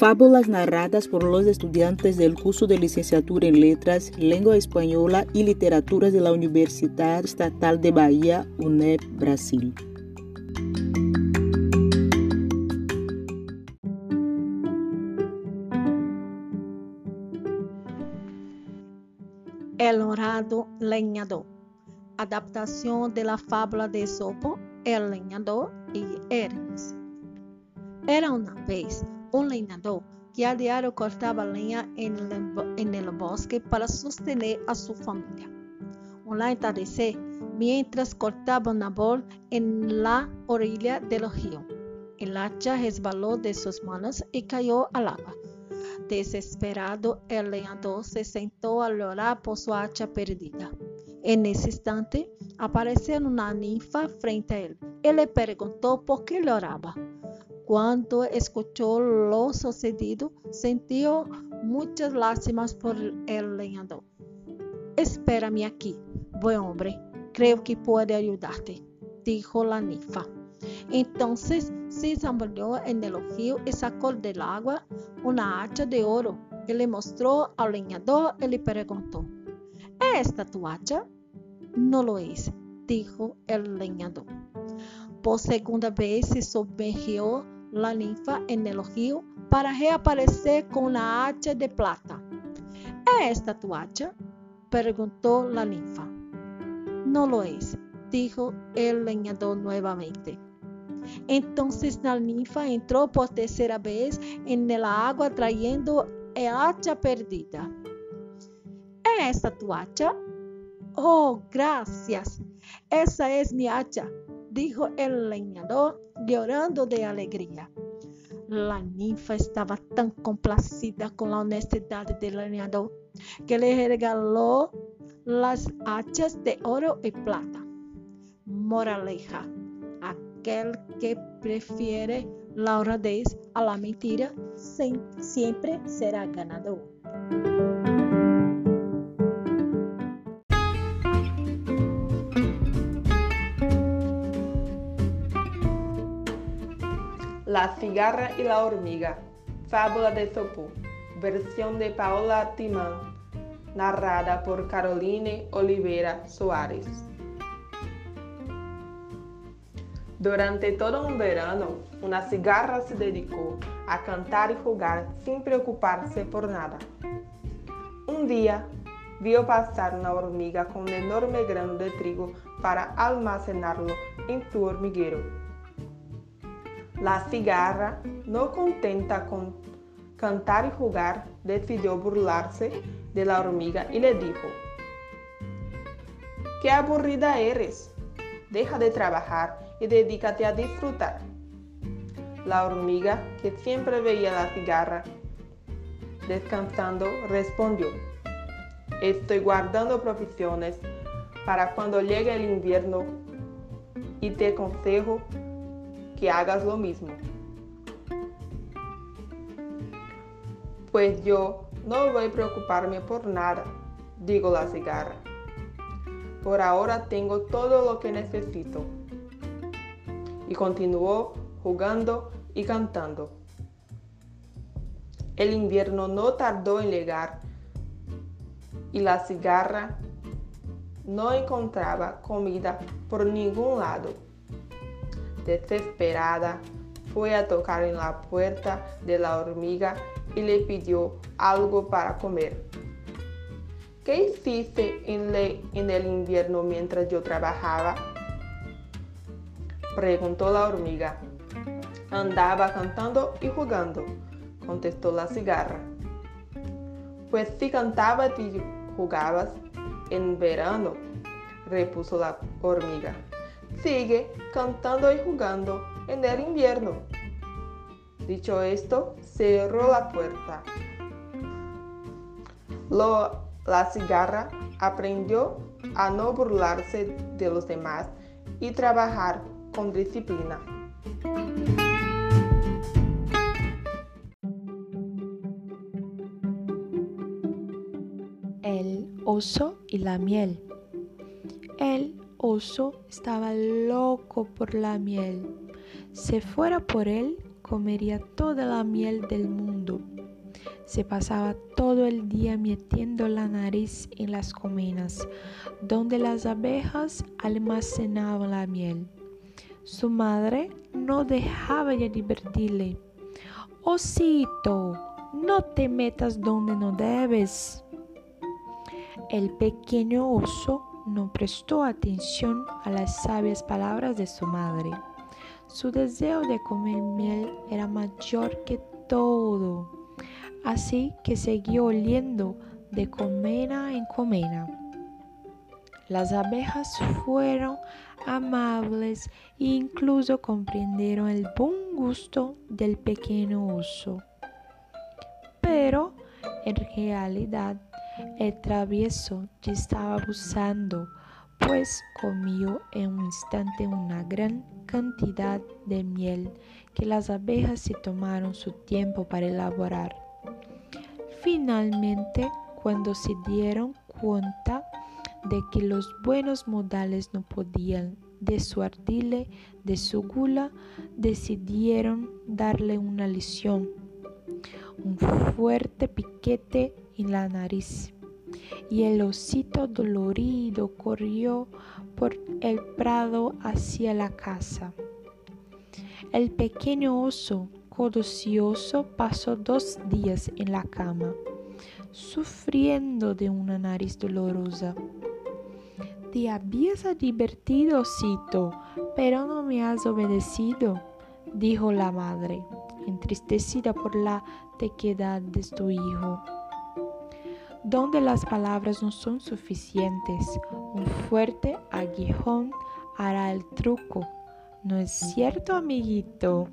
Fábulas narradas por los estudiantes del curso de licenciatura en Letras, Lengua Española y Literaturas de la Universidad Estatal de Bahía, UNEB, Brasil. El honrado leñador. Adaptación de la fábula de Esopo, El leñador y Hermes. Era una vez un leñador que a diario cortaba leña en el bosque para sostener a su familia. Un atardecer, mientras cortaba un árbol en la orilla del río, el hacha resbaló de sus manos y cayó al agua. Desesperado, el leñador se sentó a llorar por su hacha perdida. En ese instante, apareció una ninfa frente a él y le preguntó por qué lloraba. Cuando escuchó lo sucedido, sintió muchas lástimas por el leñador. «Espérame aquí, buen hombre, creo que puedo ayudarte», dijo la ninfa. Entonces se zambulló en el río y sacó del agua una hacha de oro y le mostró al leñador y le preguntó: «¿Es esta tu hacha?» «No lo es», dijo el leñador. Por segunda vez se sumergió la ninfa en el río para reaparecer con una hacha de plata. «¿Es esta tu hacha?», preguntó la ninfa. «No lo es», dijo el leñador nuevamente. Entonces la ninfa entró por tercera vez en el agua trayendo el hacha perdida. «¿Es esta tu hacha?» «Oh, gracias, esa es mi hacha», dijo el leñador llorando de alegría. La ninfa estaba tan complacida con la honestidad del leñador que le regaló las hachas de oro y plata. Moraleja: aquel que prefiere la honradez a la mentira siempre será ganador. La cigarra y la hormiga. Fábula de Esopo. Versión de Paola Timán. Narrada por Caroline Oliveira Soares. Durante todo un verano, una cigarra se dedicó a cantar y jugar sin preocuparse por nada. Un día, vio pasar una hormiga con un enorme grano de trigo para almacenarlo en su hormiguero. La cigarra, no contenta con cantar y jugar, decidió burlarse de la hormiga y le dijo: «¡Qué aburrida eres! Deja de trabajar y dedícate a disfrutar». La hormiga, que siempre veía a la cigarra descansando, respondió: «Estoy guardando provisiones para cuando llegue el invierno y te aconsejo que hagas lo mismo». «Pues yo no voy a preocuparme por nada», dijo la cigarra. «Por ahora tengo todo lo que necesito». Y continuó jugando y cantando. El invierno no tardó en llegar y la cigarra no encontraba comida por ningún lado. Desesperada, fue a tocar en la puerta de la hormiga y le pidió algo para comer. «¿Qué hiciste en el invierno mientras yo trabajaba?», preguntó la hormiga. «Andaba cantando y jugando», contestó la cigarra. «Pues si cantabas y jugabas en verano», repuso la hormiga, «sigue cantando y jugando en el invierno». Dicho esto, cerró la puerta. La cigarra aprendió a no burlarse de los demás y trabajar con disciplina. El oso y la miel. El oso estaba loco por la miel. Si fuera por él, comería toda la miel del mundo. Se pasaba todo el día metiendo la nariz en las colmenas, donde las abejas almacenaban la miel. Su madre no dejaba de divertirle. «Osito, no te metas donde no debes». El pequeño oso no prestó atención a las sabias palabras de su madre. Su deseo de comer miel era mayor que todo, así que siguió oliendo de colmena en colmena. Las abejas fueron amables e incluso comprendieron el buen gusto del pequeño oso. Pero, en realidad, el travieso ya estaba abusando, pues comió en un instante una gran cantidad de miel que las abejas se tomaron su tiempo para elaborar. Finalmente, cuando se dieron cuenta de que los buenos modales no podían disuadirle de su gula, decidieron darle una lección, un fuerte piquete en la nariz, y el osito dolorido corrió por el prado hacia la casa. El pequeño oso codicioso pasó 2 días en la cama, sufriendo de una nariz dolorosa. «Te habías divertido, osito, pero no me has obedecido», dijo la madre, entristecida por la terquedad de su hijo. Donde las palabras no son suficientes, un fuerte aguijón hará el truco. ¿No es cierto, amiguito?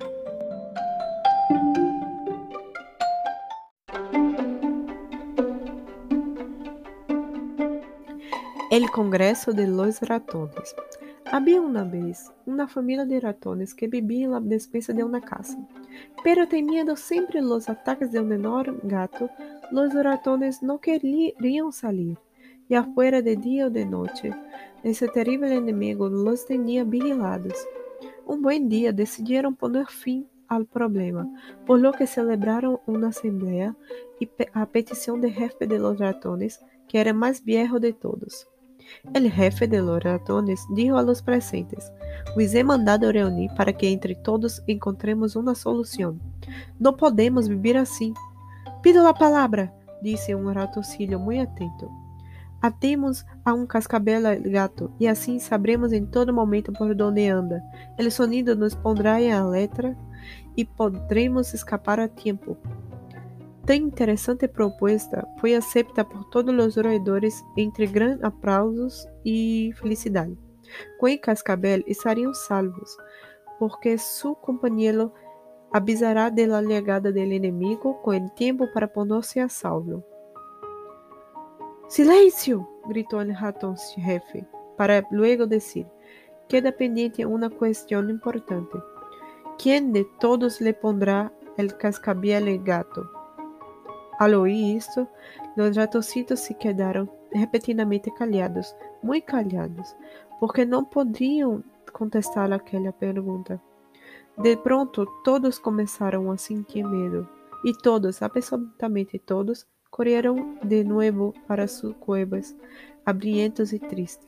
El Congreso de los Ratones. Había una vez una familia de ratones que vivía en la despensa de una casa, pero temiendo siempre los ataques de un enorme gato, los ratones no querían salir, ya fuera de día o de noche. Ese terrible enemigo los tenía vigilados. Un buen día decidieron poner fin al problema, por lo que celebraron una asamblea y a petición del jefe de los ratones, que era más viejo de todos. El jefe de los ratones dijo a los presentes: «Os he mandado reunir para que entre todos encontremos una solución. No podemos vivir así». «Pido la palabra», dice un ratoncillo muy atento. «Atemos a un cascabel al gato y así sabremos en todo momento por dónde anda. El sonido nos pondrá en alerta y podremos escapar a tiempo». Tan interesante propuesta foi aceita por todos os roedores entre grandes aplausos e felicidade. Com el cascabel estariam salvos, porque su companheiro avisará de la llegada del enemigo com el tiempo para ponerse a salvo. «¡Silencio!», gritó el ratón jefe, para luego decir: «Queda pendiente una cuestión importante. ¿Quién de todos le pondrá el cascabel al gato?» Al oír esto, los ratoncitos se quedaron repentinamente callados, muy callados, porque no podían contestar aquella pregunta. De pronto, todos comenzaron a sentir miedo, y todos, absolutamente todos, corrieron de nuevo para sus cuevas, hambrientos y tristes.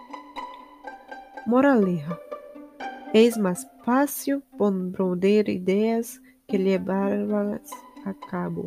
Moraleja: es más fácil poner ideas que llevarlas a cabo.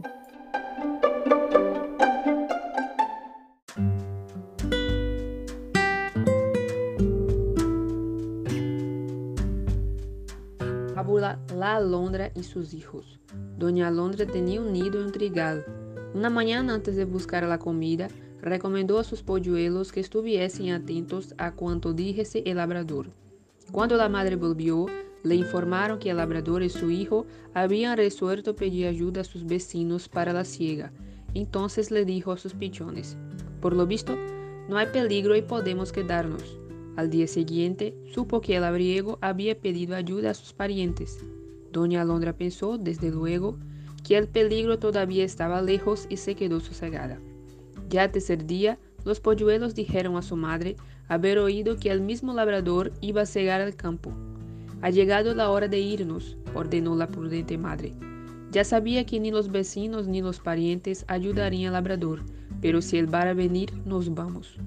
Fábula La Alondra y sus hijos. Doña Alondra tenía un nido en un trigal. Una mañana, antes de buscar la comida, recomendó a sus polluelos que estuviesen atentos a cuanto dijese el labrador. Cuando la madre volvió, le informaron que el labrador y su hijo habían resuelto pedir ayuda a sus vecinos para la siega. Entonces le dijo a sus pichones: «Por lo visto, no hay peligro y podemos quedarnos». Al día siguiente, supo que el labriego había pedido ayuda a sus parientes. Doña Alondra pensó, desde luego, que el peligro todavía estaba lejos y se quedó sosegada. Ya al tercer día, los polluelos dijeron a su madre haber oído que el mismo labrador iba a cegar el campo. Ha llegado la hora de irnos, ordenó la prudente madre. Ya sabía que ni los vecinos ni los parientes ayudarían al labrador, pero si él va a venir, nos vamos.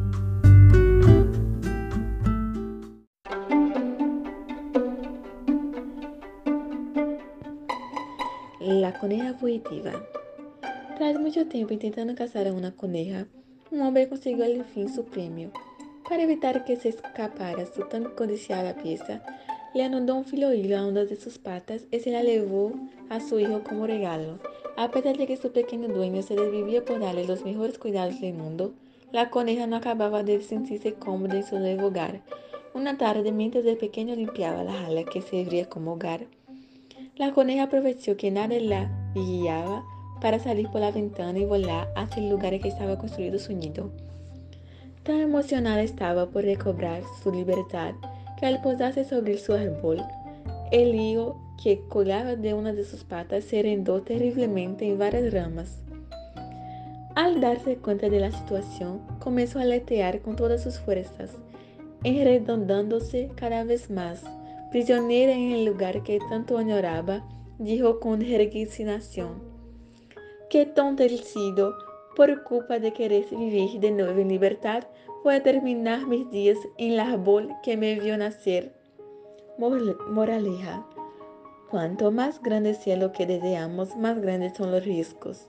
La coneja fugitiva. Tras mucho tiempo intentando cazar a una coneja, un hombre consiguió al fin su premio. Para evitar que se escapara su tan codiciada pieza, le anudó un filo hilo a una de sus patas y se la llevó a su hijo como regalo. A pesar de que su pequeño dueño se desvivía por darle los mejores cuidados del mundo, la coneja no acababa de sentirse cómoda en su nuevo hogar. Una tarde, mientras el pequeño limpiaba la jaula que servía como hogar, la coneja aprovechó que nadie la guiaba para salir por la ventana y volar hacia el lugar en que estaba construido su nido. Tan emocionada estaba por recobrar su libertad que al posarse sobre su árbol, el hilo que colgaba de una de sus patas se enredó terriblemente en varias ramas. Al darse cuenta de la situación, comenzó a aletear con todas sus fuerzas, enredándose cada vez más. Prisionera en el lugar que tanto añoraba, dijo con resignación: «Qué tonta he sido. Por culpa de querer vivir de nuevo en libertad, voy a terminar mis días en el árbol que me vio nacer». Moraleja: cuanto más grande sea lo que deseamos, más grandes son los riesgos.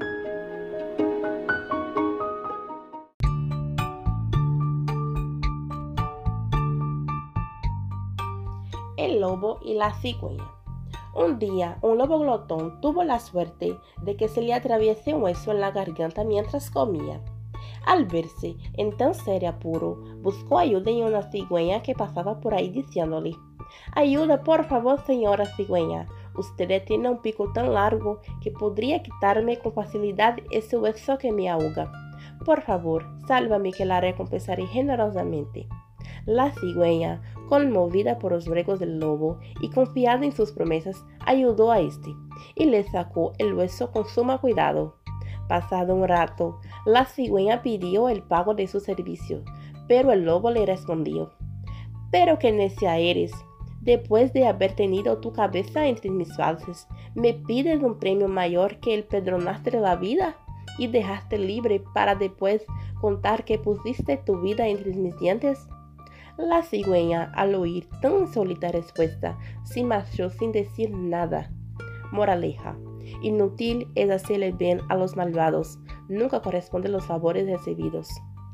El lobo y la cigüeña. Un día, un lobo glotón tuvo la suerte de que se le atraviese un hueso en la garganta mientras comía. Al verse en tan serio apuro, buscó ayuda en una cigüeña que pasaba por ahí diciéndole: «Ayuda, por favor, señora cigüeña. Usted tiene un pico tan largo que podría quitarme con facilidad ese hueso que me ahoga. Por favor, sálvame, que la recompensaré generosamente». La cigüeña, conmovida por los ruegos del lobo y confiada en sus promesas, ayudó a este y le sacó el hueso con suma cuidado. Pasado un rato, la cigüeña pidió el pago de su servicio, pero el lobo le respondió: «Pero qué necia eres. Después de haber tenido tu cabeza entre mis fauces, ¿me pides un premio mayor que el perdonaste la vida y dejaste libre para después contar que pusiste tu vida entre mis dientes?» La cigüeña, al oír tan insólita respuesta, se marchó sin decir nada. Moraleja: inútil es hacerle bien a los malvados, nunca corresponden los favores recibidos.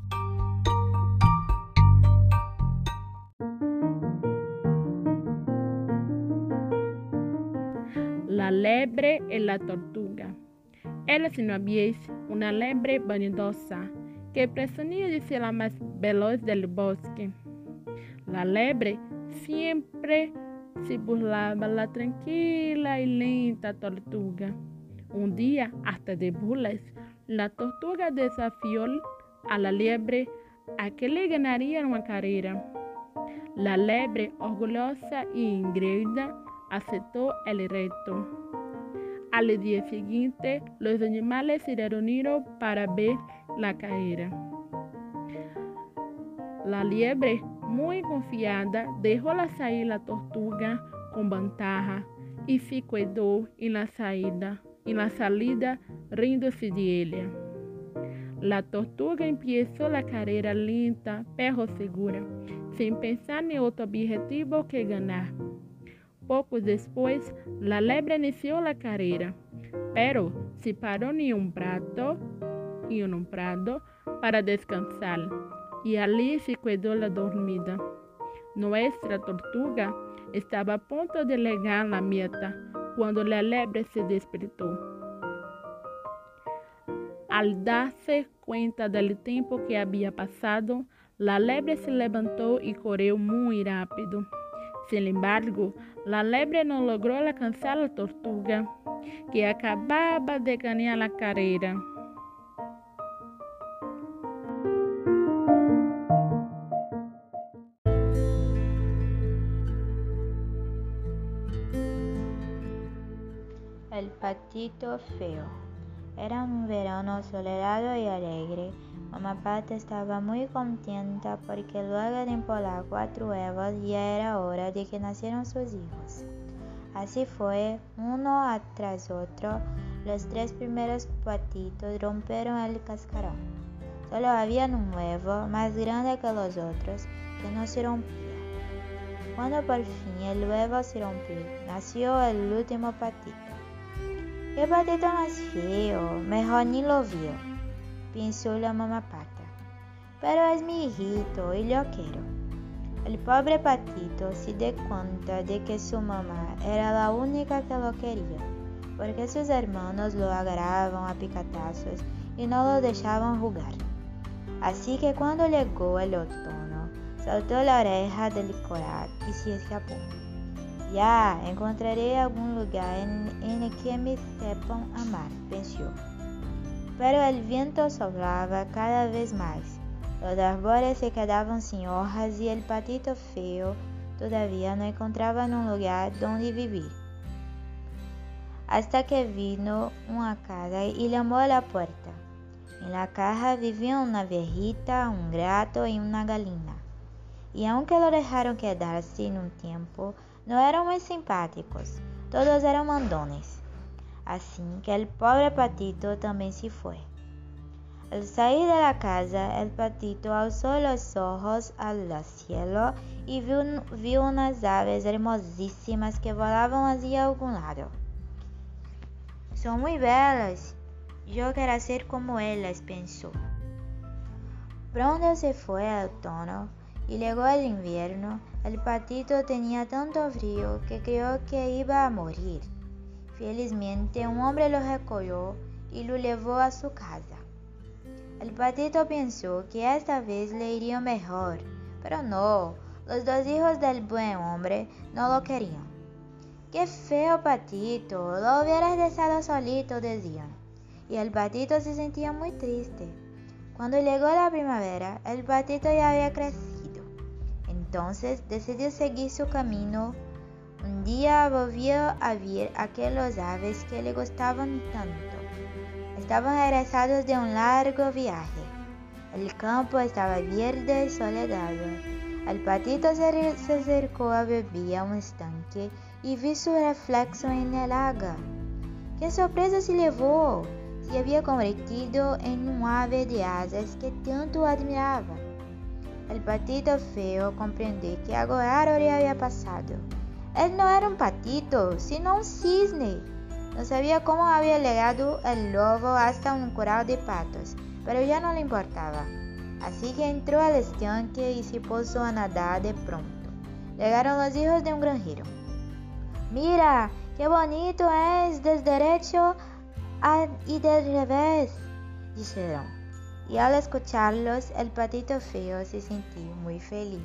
La lebre y la tortuga. Érase una vez una lebre vanidosa que presumía de ser la más veloz del bosque. La lebre siempre se burlaba la tranquila y lenta tortuga. Un día, hasta de burlas, la tortuga desafió a la lebre a que le ganaría una carrera. La lebre, orgullosa y engreída, aceptó el reto. Al día siguiente, los animales se reunieron para ver la carrera. La liebre, muy confiada, dejó salir la tortuga con ventaja y se quedó en la salida riéndose de ella. La tortuga empezó la carrera lenta pero segura, sin pensar en otro objetivo que ganar. Poco después, la lebre inició la carrera, pero se paró en un prado para descansar, y allí se quedó dormida. Nuestra tortuga estaba a punto de llegar a la meta cuando la lebre se despertó. Al darse cuenta del tiempo que había pasado, la lebre se levantó y corrió muy rápido. Sin embargo, la lebre no logró alcanzar a la tortuga, que acababa de ganar la carrera. El patito feo. Era un verano soleado y alegre. Mamá Pata estaba muy contenta porque luego de empolar 4 huevos ya era hora de que nacieran sus hijos. Así fue, uno tras otro, los 3 primeros patitos rompieron el cascarón. Solo había un huevo más grande que los otros que no se rompía. Cuando por fin el huevo se rompió, nació el último patito. ¡Qué patito más feo! Mejor ni lo vio, pensó la mamá Pata. Pero es mi hijito y lo quiero. El pobre patito se dio cuenta de que su mamá era la única que lo quería, porque sus hermanos lo agarraban a picatazos y no lo dejaban jugar. Así que cuando llegó el otoño, saltó la oreja del coral y se escapó. Ya encontraré algún lugar en el que me sepan amar, pensó. Pero el viento soplaba cada vez más. Los árboles se quedaban sin hojas y el patito feo todavía no encontraba un lugar donde vivir. Hasta que vino una casa y llamó a la puerta. En la caja vivían una viejita, un gato y una gallina. Y aunque lo dejaron quedarse en un tiempo, no eran muy simpáticos. Todos eran mandones. Así que el pobre patito también se fue. Al salir de la casa, el patito alzó los ojos al cielo y vio unas aves hermosísimas que volaban hacia algún lado. Son muy belas. Yo quiero ser como ellas, pensó. Pronto se fue el otoño y llegó el invierno. El patito tenía tanto frío que creyó que iba a morir. Felizmente, un hombre lo recogió y lo llevó a su casa. El patito pensó que esta vez le iría mejor, pero no, los 2 hijos del buen hombre no lo querían. ¡Qué feo patito! Lo hubieras dejado solito, decían. Y el patito se sentía muy triste. Cuando llegó la primavera, el patito ya había crecido. Entonces decidió seguir su camino. Un día volvió a ver aquellos aves que le gustaban tanto. Estaban regresados de un largo viaje. El campo estaba verde y soleado. El patito se acercó a beber a un estanque y vio su reflejo en el agua. ¡Qué sorpresa se llevó! Se había convertido en un ave de asas que tanto admiraba. El patito feo comprendió que agora le había pasado. Él no era un patito, sino un cisne. No sabía cómo había llegado el lobo hasta un corral de patos, pero ya no le importaba. Así que entró al estanque y se puso a nadar de pronto. Llegaron los hijos de un granjero. ¡Mira, qué bonito es del derecho y del revés!, dijeron. Y al escucharlos, el patito feo se sintió muy feliz.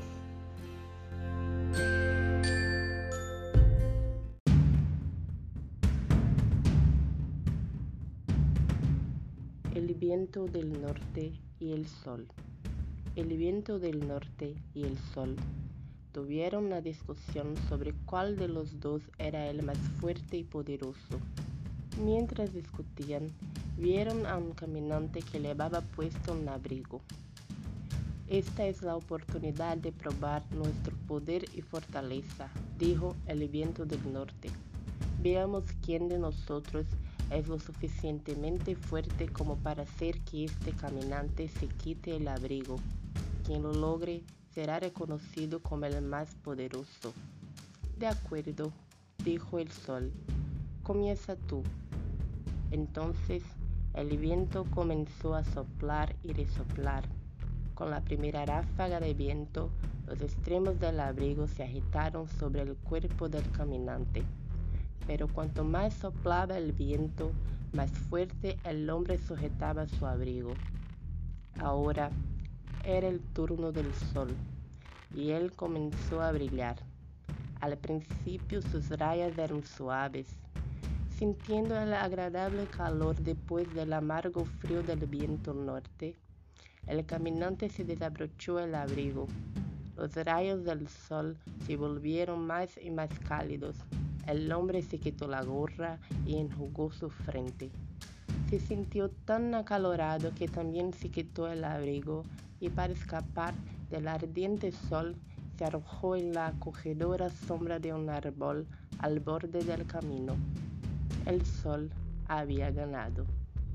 El viento del norte y el sol. El viento del norte y el sol tuvieron una discusión sobre cuál de los dos era el más fuerte y poderoso. Mientras discutían, vieron a un caminante que llevaba puesto un abrigo. Esta es la oportunidad de probar nuestro poder y fortaleza, dijo el viento del norte. Veamos quién de nosotros es lo suficientemente fuerte como para hacer que este caminante se quite el abrigo. Quien lo logre será reconocido como el más poderoso. De acuerdo, dijo el sol. Comienza tú. Entonces el viento comenzó a soplar y resoplar. Con la primera ráfaga de viento, los extremos del abrigo se agitaron sobre el cuerpo del caminante. Pero cuanto más soplaba el viento, más fuerte el hombre sujetaba su abrigo. Ahora era el turno del sol, y él comenzó a brillar. Al principio sus rayas eran suaves. Sintiendo el agradable calor después del amargo frío del viento norte, el caminante se desabrochó el abrigo. Los rayos del sol se volvieron más y más cálidos. El hombre se quitó la gorra y enjugó su frente. Se sintió tan acalorado que también se quitó el abrigo y para escapar del ardiente sol se arrojó en la acogedora sombra de un árbol al borde del camino. El sol había ganado.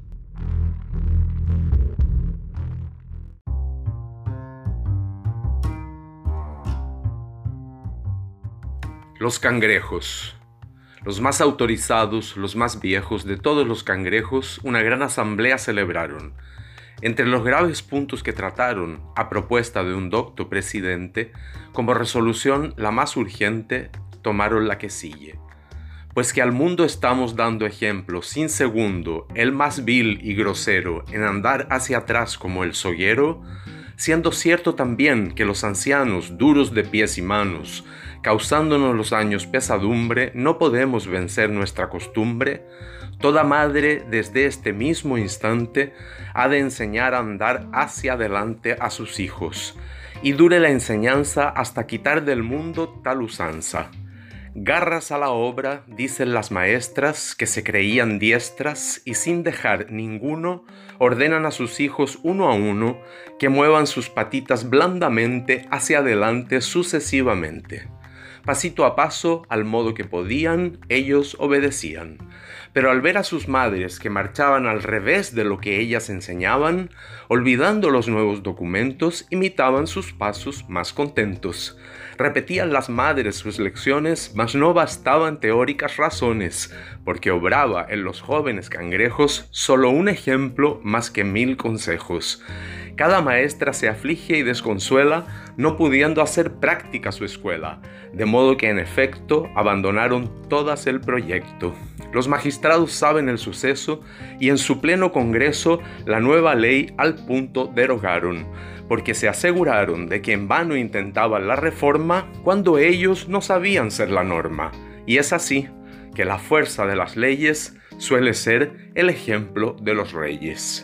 Los cangrejos. Los más autorizados, los más viejos de todos los cangrejos, una gran asamblea celebraron. Entre los graves puntos que trataron, a propuesta de un docto presidente, como resolución la más urgente, tomaron la que sigue. Pues que al mundo estamos dando ejemplo sin segundo, el más vil y grosero, en andar hacia atrás como el soguero, siendo cierto también que los ancianos, duros de pies y manos, causándonos los años pesadumbre, no podemos vencer nuestra costumbre, toda madre desde este mismo instante ha de enseñar a andar hacia adelante a sus hijos, y dure la enseñanza hasta quitar del mundo tal usanza. Garras a la obra, dicen las maestras, que se creían diestras y sin dejar ninguno, ordenan a sus hijos uno a uno que muevan sus patitas blandamente hacia adelante sucesivamente. Pasito a paso, al modo que podían, ellos obedecían. Pero al ver a sus madres que marchaban al revés de lo que ellas enseñaban, olvidando los nuevos documentos, imitaban sus pasos más contentos. Repetían las madres sus lecciones, mas no bastaban teóricas razones, porque obraba en los jóvenes cangrejos solo un ejemplo más que 1000 consejos. Cada maestra se aflige y desconsuela, no pudiendo hacer práctica su escuela, de modo que en efecto abandonaron todas el proyecto. Los magistrados saben el suceso y en su pleno congreso la nueva ley al punto derogaron, porque se aseguraron de que en vano intentaban la reforma cuando ellos no sabían ser la norma. Y es así que la fuerza de las leyes suele ser el ejemplo de los reyes.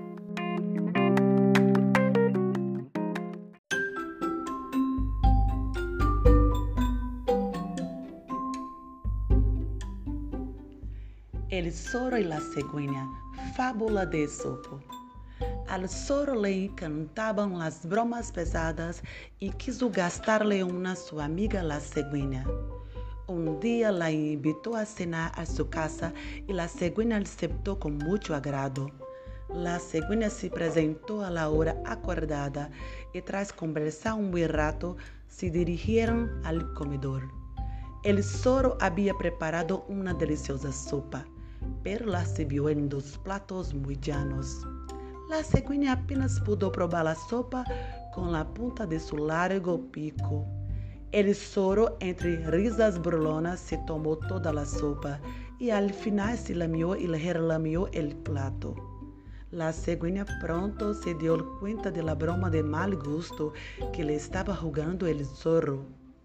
El zorro y la cigüeña, fábula de Esopo. Al zorro le encantaban las bromas pesadas y quiso gastarle una a su amiga la cigüeña. Un día la invitó a cenar a su casa y la cigüeña aceptó con mucho agrado. La cigüeña se presentó a la hora acordada y tras conversar un buen rato se dirigieron al comedor. El zorro había preparado una deliciosa sopa, pero la sirvió en 2 platos muy llanos. La cigüeña apenas pudo probar la sopa con la punta de su largo pico. El zorro, entre risas burlonas, se tomó toda la sopa y al final se lamió y relamió el plato. La cigüeña pronto se dio cuenta de la broma de mal gusto que le estaba jugando el zorro.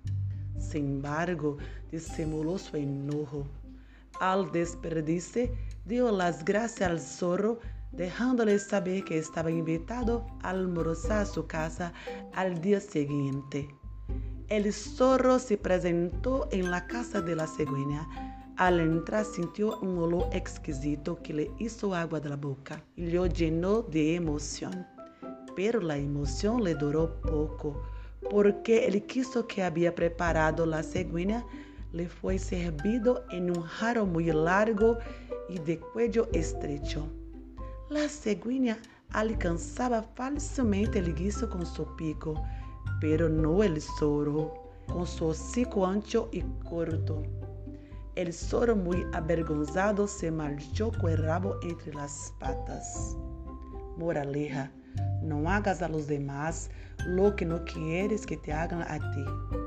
Sin embargo, disimuló su enojo. Al despedirse, dio las gracias al zorro, dejándole saber que estaba invitado a almorzar a su casa al día siguiente. El zorro se presentó en la casa de la cigüeña. Al entrar sintió un olor exquisito que le hizo agua de la boca y lo llenó de emoción. Pero la emoción le duró poco, porque el queso que había preparado la cigüeña le fue servido en un jarro muy largo y de cuello estrecho. La cigüeña alcanzaba fácilmente el guiso con su pico, pero no el zorro, con su hocico ancho y corto. El zorro, muy avergonzado, se marchó con el rabo entre las patas. Moraleja: no hagas a los demás lo que no quieres que te hagan a ti.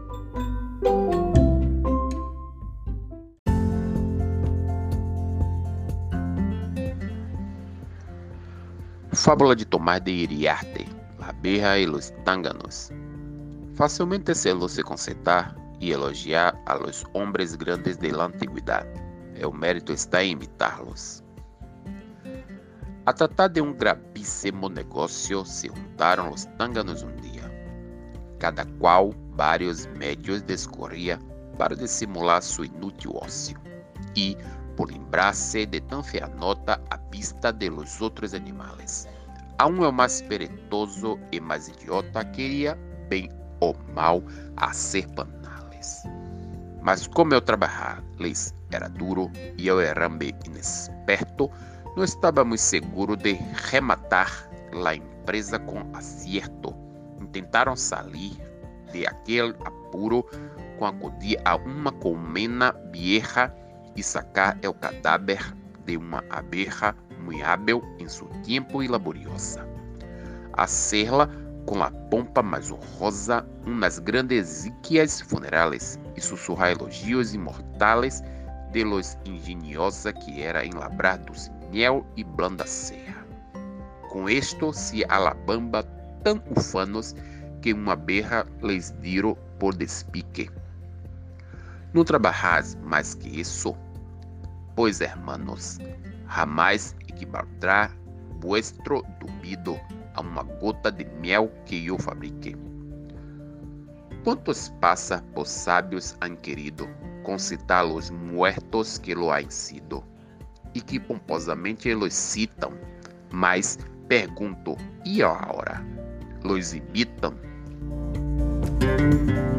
Fábula de Tomás de Iriarte, la abeja y los tánganos. Fácilmente se concertar y elogiar a los hombres grandes de la antigüedad. El mérito está en imitarlos. A tratar de un gravísimo negocio se juntaron los tánganos un día. Cada cual varios medios descorría para disimular su inútil ocio. Y, por lembrarse de tan fea nota à vista de los outros animais. Aún o mais peretoso e mais idiota queria, bem ou mal, hacer panales. Mas como eu trabalhar lhes era duro e eu era bem inexperto, não estava muito seguro de rematar a empresa com acerto. Tentaram sair de aquele apuro com acudir a uma colmena vieja e sacar o cadáver de uma abeja muito hábil em seu tempo e laboriosa. Hacerla com a pompa mais honrosa, umas grandes exíquias funerais e sussurrar elogios imortais de los engenhosa que era em labrar dos miel e blanda serra. Com isto se alabamba tão ufanos que uma abeja lhes diro por despique. Não trabalhais mais que isso, pois, hermanos, jamais equivaldrá vuestro dubido a uma gota de miel que eu fabriquei. Quantos passa por sábios han querido concitar los muertos que lo han sido, e que pomposamente los citam, mas pergunto, e agora? Los imitam?